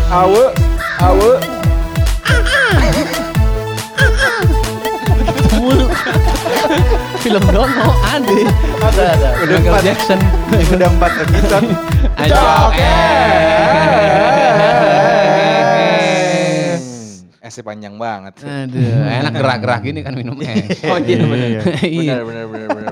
Awe. Film Dono ada. Udah Michael Jackson. Udah 4 episode. Esnya panjang banget. Aduh, enak gerak-gerak gini kan minum es. Oh iya benar. Iya. Benar.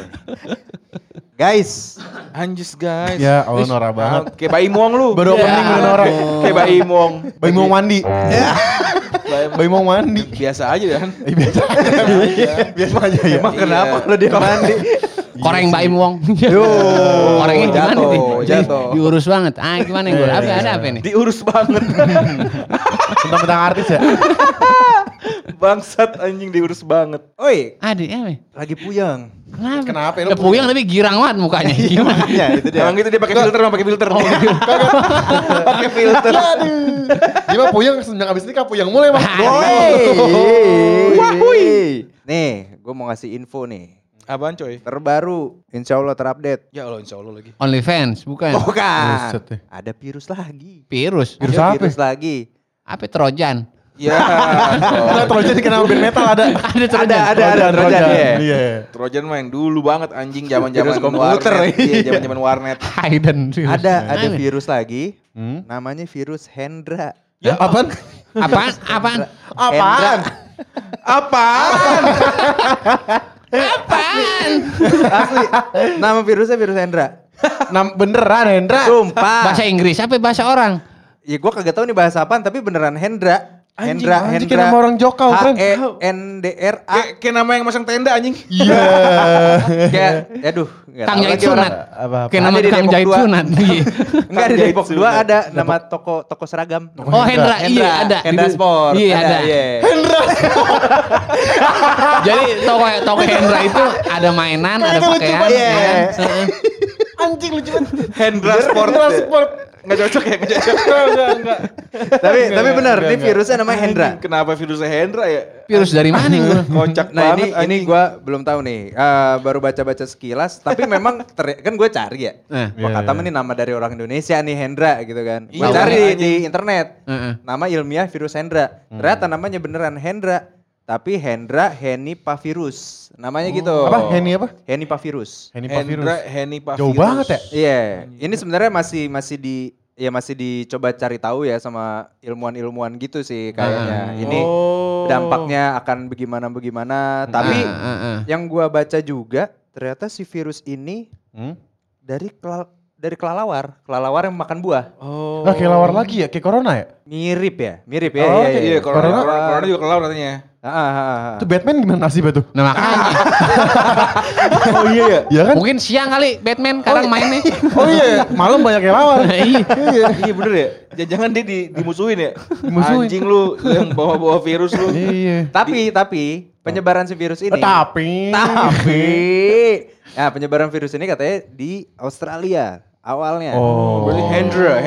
Guys, Anjis guys. Ya Allah norak banget. Kayak Bayi Muang lu. Baru opening udah norak. Kayak Bayi Muang. Bayi mau mandi. Bayi mau mandi. Biasa aja kan. Biasa aja ya. emang kenapa kalau dia mandi? Koreng Baim Wong. Korengnya gimana nih? Jatuh. Diurus banget. Ah gimana yang gue? Ada apa nih? Diurus banget. Tentang artis ya. Bangsat anjing diurus banget. Oi, Ada apa? lagi puyeng. Kenapa ya? Udah puyeng tapi girang banget mukanya. Gimana? Ya, itu dia. Emang gitu dia pakai filter, pakai filter. Pakai filter. Dia mah puyeng semenjak abis nikah puyeng mulai mah. Woi. Nih, gue mau ngasih info nih. Apaan coy? Terbaru, insya Allah terupdate. Ya Allah insya Allah lagi. OnlyFans bukan? Bukan. Buset deh. Ada virus lagi. Virus. Virus Ada apa? virus lagi. Apa Trojan? Ya. Nah, Trojan dikenal band metal ada. Ada Trojan. Ada Trojan ya. Iya. Trojan main dulu banget anjing zaman-zaman Virus komputer. warnet. Iya, zaman-zaman warnet. Hayden. Ada virus lagi. Hmm? Namanya virus Hendra. Ya apaan? Apaan? Apaan? Apaan? Apaan? Asli. Nama virusnya virus Hendra. Beneran Hendra? Sumpah. Bahasa Inggris apa bahasa orang? Ya gue kagak tahu nih bahasa apaan tapi beneran Hendra. Anjing kayak nama orang Jokau kan? H-E-N-D-R-A. Kayak nama yang masang tenda anjing. Iya. Kayak, aduh. nggak Kang tahu Jahit lagi orang. Sunat. Apa? Kayak nama Ada di Kang Depok Jahit 2. Sunat. Iya. Enggak di Depok 2 Sunat. ada nama toko seragam. Oh Hendra, iya ada. Hendra Sport. Iya ada. Jadi toko Hendra itu ada mainan, ada pakaian. banget. ya kan? Iya. Heeh. Anjing lucu banget. Hendra Sport. Nggak cocok ya, nggak cocok. Enggak. Tapi benar, ini virusnya namanya Hendra. Anjing, kenapa virusnya Hendra ya? Virus dari mana gue? Kocak Nah banget ini gue belum tahu nih, baru baca-baca sekilas. Tapi memang kan gue cari ya. Wah Iya, kata iya. ini nama dari orang Indonesia nih Hendra gitu kan. Gue Iya, cari makanya. di internet. Heeh. Nama ilmiah virus Hendra. Ternyata namanya beneran Hendra. Tapi Hendra henipavirus. Namanya gitu. Apa? Heni apa? Henipavirus. Henipavirus. Henipavirus. Jauh banget ya? Iya. Ini sebenarnya masih dicoba cari tahu ya sama ilmuwan-ilmuwan gitu sih kayaknya. Ini dampaknya akan bagaimana. Tapi yang gua baca juga ternyata si virus ini dari kelelawar yang makan buah. Oh. Nah, kayak lawar lagi ya? Kayak corona ya? Mirip ya. Oh, Iya, Corona- corona juga kelelawar katanya. Itu Batman gimana nasibnya tuh? Nah makanya. Oh iya ya. Iya kan? Mungkin siang kali Batman sekarang mainnya. Oh iya, malam banyak yang lawar. Iya. Iya bener ya. Jangan dia dimusuhin ya. Dimusuhin. Anjing lu yang bawa virus lu. Iya. Tapi penyebaran si virus ini. Tapi. Nah, penyebaran virus ini katanya di Australia awalnya. Oh. Berarti Hendra.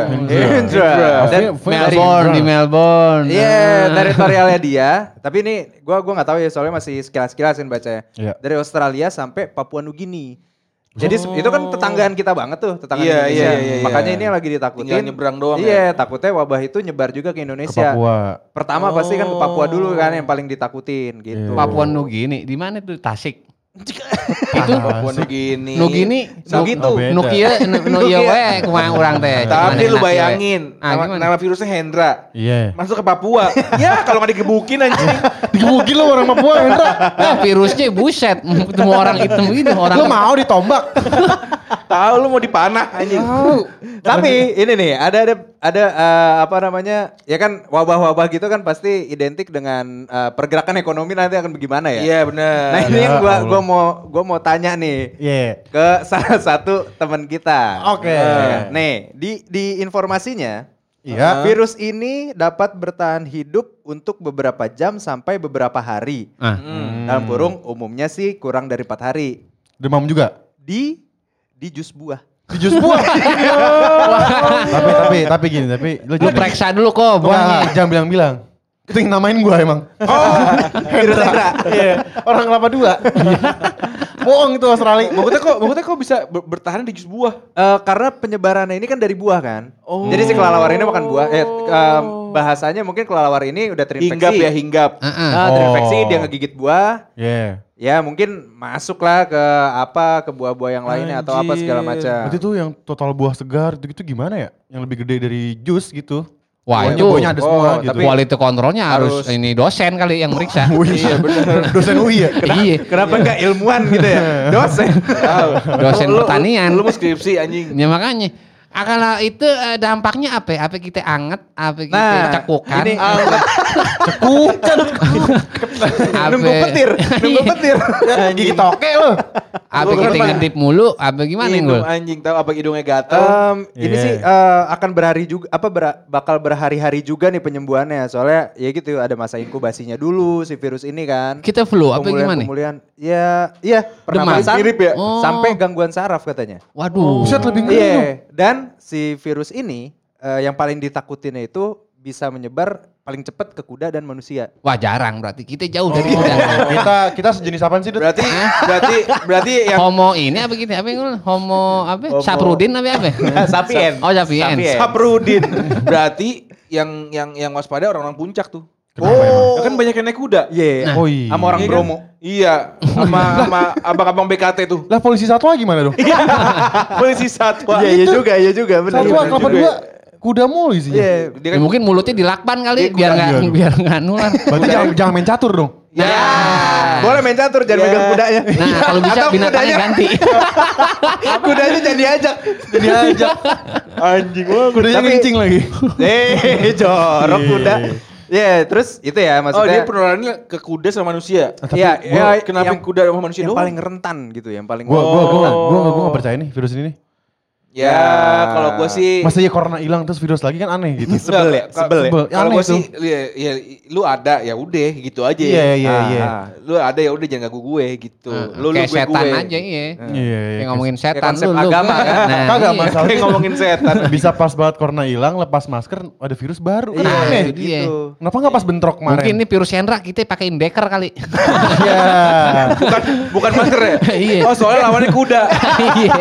Dan Melbourne di Melbourne. iya, teritorialnya dia. Tapi ini gua nggak tahu ya soalnya masih sekilas-sekilasin bacanya. Iya. Dari Australia sampai Papua Nugini. Jadi itu kan tetanggaan kita banget tuh, tetanggaan Iya, Indonesia. iya. Makanya ini yang lagi ditakutin. Tinggal nyebrang doang Iya, takutnya wabah itu nyebar juga ke Ke Indonesia. Papua. Pertama pasti kan ke Papua dulu kan yang paling ditakutin gitu. Iya. Papua Nugini di mana tuh? Tasik. Itu Papua Nugini. Nugini. Nugitu. Oh, beda. Nukia we kumaha urang teh. Tapi lu Cuman enak bayangin, we. Ah, gimana? nama virusnya Hendra. Iya. Masuk ke Papua. Ya kalau nggak digebukin anjing. Digebukin lo orang Papua, Hendra. Nah, virusnya buset, ketemu orang hitam gitu, orang Lo mau ditombak? Tahu lu mau dipanah anjing. Tapi ini nih ada apa namanya? Ya kan wabah-wabah gitu kan pasti identik dengan pergerakan ekonomi nanti akan bagaimana ya? Iya benar. Nah ini yang Ya gua mau tanya nih Iya. ke salah satu teman kita. Oke. Nih di informasinya Iya. virus ini dapat bertahan hidup untuk beberapa jam sampai beberapa hari. Ah. Dalam kurung umumnya sih kurang dari 4 hari. Demam juga? Di jus buah. Di jus buah. tapi gini, Lu periksa dulu kok buahnya. Jangan bilang-bilang. Itu yang namain gua emang. Virus Hendra. Iya. Orang kelapa 2. Bohong itu Australia. Maksudnya kok bisa bertahan di jus buah? Karena penyebarannya ini kan dari buah kan. Oh. Jadi si kelelawar ini makan buah. Bahasanya mungkin kelelawar ini udah terinfeksi. Hinggap. Terinfeksi dia ngegigit buah. Iya. Ya mungkin masuklah ke buah-buah yang lainnya atau apa segala macam. Berarti tuh yang total buah segar gitu gimana ya? Yang lebih gede dari jus gitu. Wah Buahnya- itu buahnya ada semua gitu. tapi- quality controlnya harus ini dosen kali yang meriksa. Iya benar. Dosen UI ya? Iya. Kenapa enggak ilmuwan gitu ya? Dosen. Dosen pertanian. Lu mau skripsi anjing. Ya makanya. Kalau itu dampaknya apa? Apa kita anget? Apa kita Nah, cekukan? ini Apa- nunggu petir. Gigi toke lo. Apa kita ngedip mulu? Apa gimana Hidung Ngul? anjing tahu apa hidungnya gatel. Ini Iya. sih akan bakal berhari-hari juga nih penyembuhannya. Soalnya ya gitu ada masa inkubasinya dulu si virus ini kan. Kita flu apa gimana? Pemulihan. Ya, iya Demam. pernapasan Mirip ya? Oh. sampai gangguan saraf katanya. Waduh. Buset lebih ngeri dong. Iya, dan si virus ini yang paling ditakutinnya itu bisa menyebar paling cepat ke kuda dan manusia. Wah jarang berarti kita jauh dari kuda. Kita sejenis apaan sih, Dut? Berarti yang Homo ini apa gitu? Apa yang Homo apa? Saprudin apa? Sapien. Oh sapien. Sapien. Saprudin. Berarti yang waspada orang-orang puncak tuh. Oh. Ya kan banyak yang naik kuda. Iya. Oh iya. Sama orang Iya kan? Bromo. Iya, sama abang-abang BKT tuh. Lah polisi satwa gimana dong? Polisi satwa. Iya juga benar. Satwa bener kelapa juga dua kuda mulu isinya. Iya. Dia Ya, kan mungkin mulutnya dilakban kali Iya, biar nggak nular. Berarti jangan main catur dong. ya. Boleh main catur, jangan Iya. megang kudanya. Nah kalau bisa Atau binatangnya kudanya- ganti. Kudanya jadi diajak. Jadi aja. Anjing gua kudanya Tapi- ngencing lagi. Jorok kuda. Iya, terus itu ya Oh dia maksudnya. penularannya ke kuda sama manusia. Iya, ya, Kenapa yang- kuda sama manusia yang doang? paling rentan gitu, yang paling Gua enggak percaya nih virus ini nih. Ya kalau gue sih Masa ya corona hilang terus virus lagi kan aneh gitu. sebel ya, sebel ya. Sebel. Kalau Aneh gue sih tuh. ya lu ada ya udah gitu aja. Iya. Lu ada ya udah jangan ganggu gue gitu. Lu Kayak gue setan gue. aja iya. Iya. Kayak ngomongin setan konsep lu. agama kan? Nah, Kagak iya. masalah. Kayak ngomongin setan. Bisa pas banget corona hilang, lepas masker ada virus baru. Kan Iya, aneh. itu dia. gitu. Kenapa nggak pas bentrok kemarin? Mungkin ini virus Hendra kita pakein deker kali. Iya. Bukan masker ya? Iya. Oh soalnya lawannya kuda. Iya.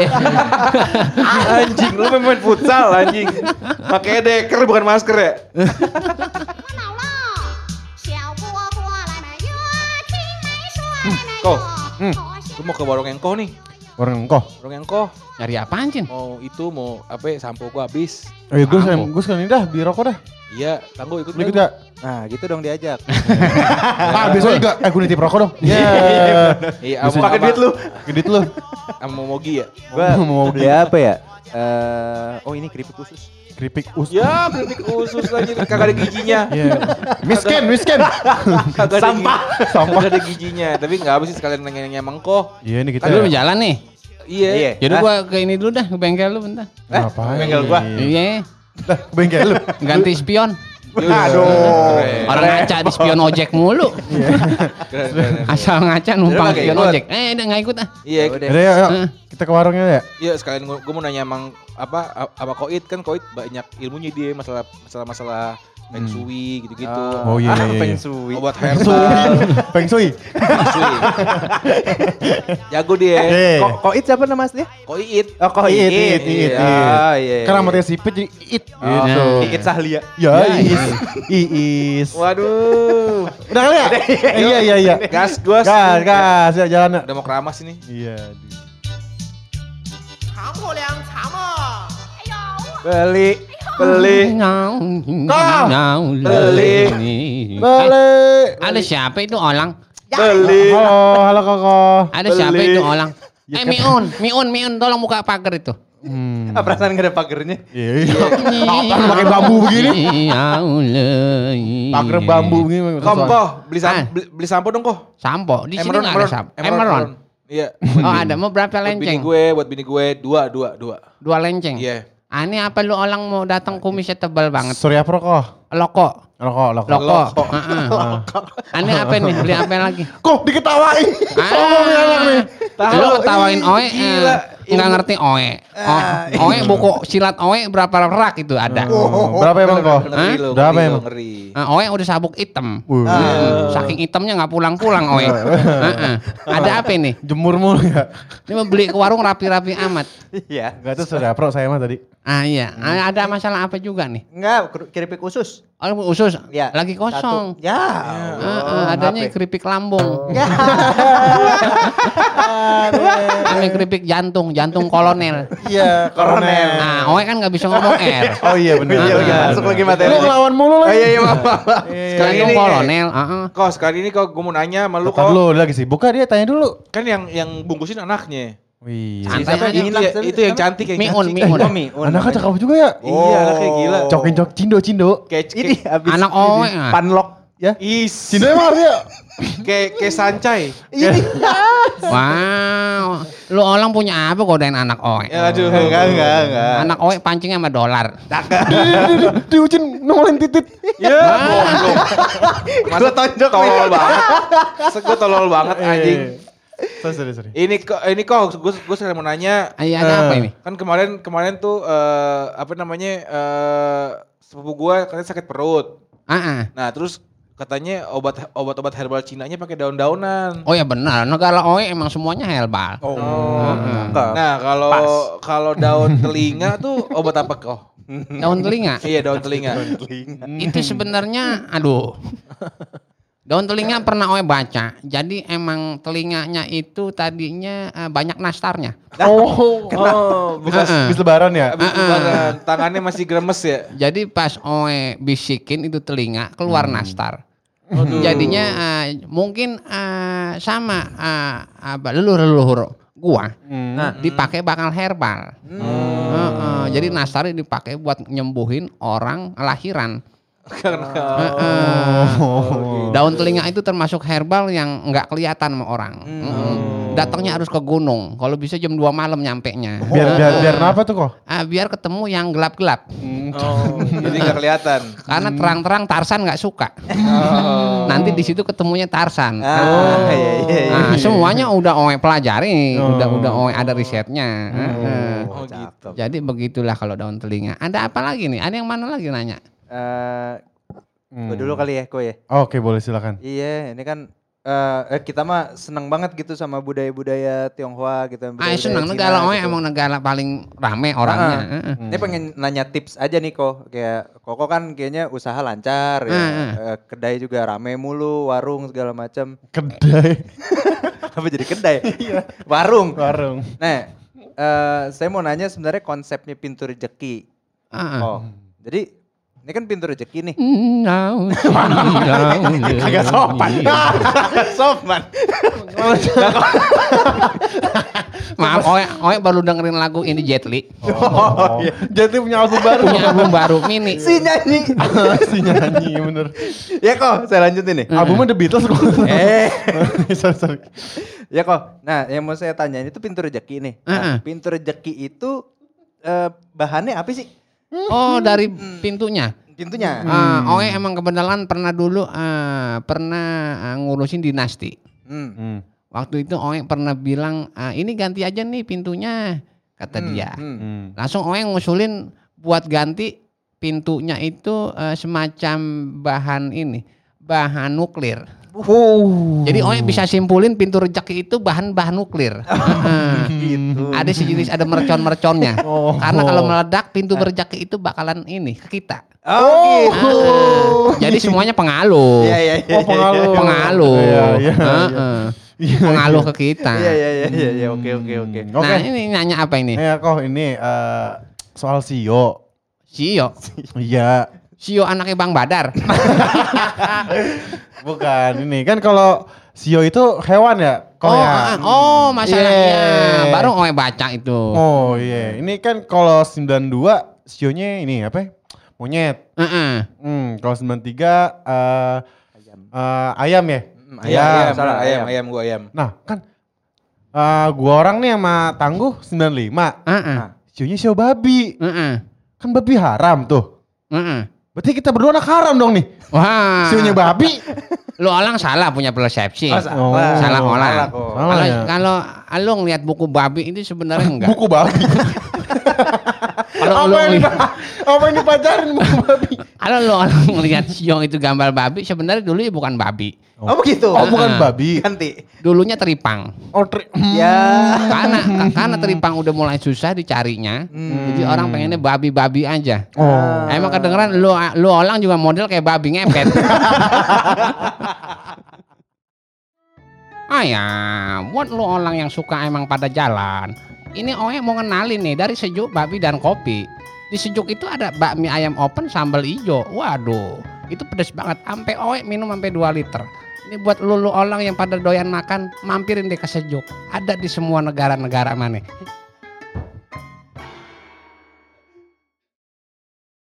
Anjing lu main futsal anjing. Pakai deker bukan masker ya? 闹闹，小蝈蝈来买月，青梅树来买 Kok? 月。 Gue mau ke warung engkoh nih. Orang engkau. Warung engkoh. Nyari apaan Cin? Mau apa ya, sampo gue habis. Oh iya, Apa? gue sekalian dah beli rokok dah. Iya, tangguh ikut. Lu ikut gak? Nah, gitu dong diajak. Ah, besok juga. Gue nitip rokok dong. Iya. Iya, Pakai duit lu. Gedit lu. Sama Mogi ya. Gua Mau beli apa ya? Oh ini keripik khusus. keripik us. Ya, kritik khusus lagi kagak ada giginya. Iya. Miskin. Kagak ada Sampah. Kagak ada giginya. Tapi enggak apa sih sekalian nanya-nanya mengkoh. Iya ini kita. Tadi lu jalan nih. Iya. Jadi gua ke ini dulu dah, ke bengkel lu bentar. Ngapain? bengkel gua. Iya, Dah, bengkel lu. ganti spion. Aduh. Orang ngaca di spion ojek mulu. Keren. Asal ngaca numpang Jadi spion nggak ikut. ojek. Udah nggak ikut ah. Iya, Udah. Udah yuk, kita ke warungnya ya. iya sekalian gue mau nanya emang apa Koit kan Koit banyak ilmunya dia masalah feng shui gitu-gitu. Oh iya. Feng shui. Obat herbal. Feng Shui. Feng shui. Jago dia. Koit siapa nama aslinya? Koit. Oh Koit. It. Ah, iya. Karena matanya sipit jadi it. Oh, Gitu. Iit Sahlia. Ya, Iis. Waduh. Udah kali ya? Iya. Gas. Gas, ya jalan ya. Udah mau keramas ini. Iya. 尝过粮，尝嘛。哎呦， Beli. Beli. Balik. Ada siapa itu orang? Beli. Halo Koko. Ada siapa itu orang? Miun, tolong buka pagar itu. Ah, perasaan gak ada pagernya. Iya. Pakai bambu begini. Pagar bambu begini. Koh, beli sampo dong Koh. Sampo, di sini nggak ada sampo. Emeron. Iya. Oh ada, mau berapa lenceng? Buat bini gue dua. 2 lenceng. Iya. Ah, ini apa lu orang mau datang kumisnya tebal banget? Surya Pro kok. Loko. Loko. Aneh apa nih? Beli apa lagi? Kok diketawain? Lu ketawain Oe, nggak ngerti Oe. Oe buku silat Oe berapa rak itu ada. Berapa emang kok? Ngeri lo, Berapa ngeri lo, emang? ngeri. Oe udah sabuk hitam. Saking hitamnya nggak pulang-pulang Oe. Ada apa ini? Jemur mulu ya. Ini mau beli ke warung rapi-rapi amat. Iya. Gak tuh sudah pro saya mah tadi. Iya. Ada masalah apa juga nih? Enggak, keripik usus. Oh, usus Ya. lagi kosong. Satu. Ya. Adanya keripik lambung. Ini keripik jantung kolonel. Iya, koronel. Nah, Oe kan nggak bisa ngomong R. Oh iya benar. Iya, lagi masuk lagi materi. Lu ngelawan mulu Oh lagi. iya, maaf. Sekali Jantung ini kolonel. Kok sekali ini kok gue mau nanya sama lu Bentar kok. lu lagi sibuk kah dia tanya dulu. Kan yang bungkusin anaknya. Wih. Santai aja. Itu yang cantik yang Miun. cantik. Anaknya cakep juga ya. Iya, anaknya gila. Cokin cindo. Ini habis Anak Owe. panlok. Ya. Is. Cindo emang artinya. Kayak sancai. Wow. Lu orang punya apa godain anak Owe? Ya aduh. Enggak. Anak Owe pancingnya sama dolar. Diucin nongolin titit. Ya, goblok. Masa Gua tonjok tolol banget. Gue tolol banget anjing. Sorry. Ini kok gue sekali mau nanya. Iya, ada apa ini? Kan kemarin tuh apa namanya sepupu gue katanya sakit perut. Nah terus katanya obat herbal Cinanya pakai daun-daunan. Oh ya benar, negara Oe emang semuanya herbal. Nah kalau daun telinga tuh obat apa kok? Daun telinga. Iya daun telinga. Itu sebenarnya daun telinga pernah Oe baca. Jadi emang telinganya itu tadinya banyak nastarnya. Habis lebaran ya. Abis lebaran, tangannya masih gremes ya. Jadi pas Oe bisikin itu telinga keluar nastar. Jadinya mungkin sama leluhur gua. Dipakai bakal herbal. Jadi nastarnya dipakai buat nyembuhin orang lahiran. Daun telinga itu termasuk herbal yang nggak kelihatan sama orang. Datangnya harus ke gunung. Kalau bisa jam 2 malam nyampenya. Biar apa tuh kok? Biar ketemu yang gelap-gelap. Jadi nggak kelihatan. Karena terang-terang Tarsan nggak suka. Nanti di situ ketemunya Tarsan. Iya. Semuanya udah Oe pelajari, udah Oe ada risetnya. Oh gitu. Jadi begitulah kalau daun telinga. Ada apa lagi nih? Ada yang mana lagi nanya? Gue dulu kali ya, Ko ya. Oke, boleh silakan. Iya, ini kan kita mah seneng banget gitu sama budaya-budaya Tionghoa gitu. Seneng negara Oe emang negara paling rame orangnya. Ini pengen nanya tips aja nih Ko. Kayak Koko kan kayaknya usaha lancar ya. Kedai juga rame mulu, warung segala macam. Kedai. Apa jadi kedai? Warung. Nah, saya mau nanya sebenarnya konsepnya pintu rezeki. Jadi ini kan pintu rezeki nih. Agak sopan. Sopan. Maaf, Oe baru dengerin lagu ini Jet Li. Jadi punya album baru. Punya album baru mini. Si nyanyi. Si nyanyi bener. Ya kok, saya lanjutin nih. Albumnya The Beatles kok. Sorry. Ya kok. Nah, yang mau saya tanyain itu pintu rezeki nih. Nah, pintu rezeki itu bahannya apa sih? Oh, dari pintunya. Pintunya. Oe emang kebetulan pernah dulu ngurusin dinasti. Waktu itu Oe pernah bilang, ini ganti aja nih pintunya, kata dia. Langsung Oe ngusulin buat ganti pintunya itu semacam bahan nuklir. Jadi Oe bisa simpulin pintu rezeki itu bahan nuklir. Gitu. Ada sejenis ada mercon-merconnya. Karena kalau meledak pintu rezeki itu bakalan ke kita. Jadi semuanya pengaruh. Pengaruh. Pengaruh ke kita. Iya. Oke. Nah, ini nanya apa ini? Ya kok ini soal Sio. Sio. Iya. Sio anaknya Bang Badar. Bukan ini kan kalau Sio itu hewan ya? Masalahnya baru Oe baca itu. Oh iya, ini kan kalau 92 Sionya ini apa? Monyet. Kalau 93 ayam ya? Ayam gua ayam. Nah kan gua orang nih sama Tangguh 95. Sionya Sio babi. Kan babi haram tuh. Berarti kita berdua anak haram dong nih. Wah. Sionya babi. Lu orang salah punya persepsi. Salah orang. Kalau lu ngeliat buku babi itu sebenarnya enggak. Buku babi. Kalau apa yang dipacarin buku babi? Kalau lu orang ngeliat sio itu gambar babi, sebenarnya dulu bukan babi. Oh begitu. Oh bukan babi. Ganti. Dulunya teripang. Oh ya. Karena teripang udah mulai susah dicarinya. Jadi orang pengennya babi-babi aja. Oh. Emang kedengeran lu orang juga model kayak babi ngepet. Ya, buat lu orang yang suka emang pada jalan. Ini Oe mau ngenalin nih dari Sejuk Babi dan Kopi. Di Sejuk itu ada bakmi ayam open sambal ijo. Waduh, itu pedes banget. Sampai Oe minum sampai 2 liter. Ini buat lu orang yang pada doyan makan, mampirin deh ke Sejuk. Ada di semua negara-negara mana.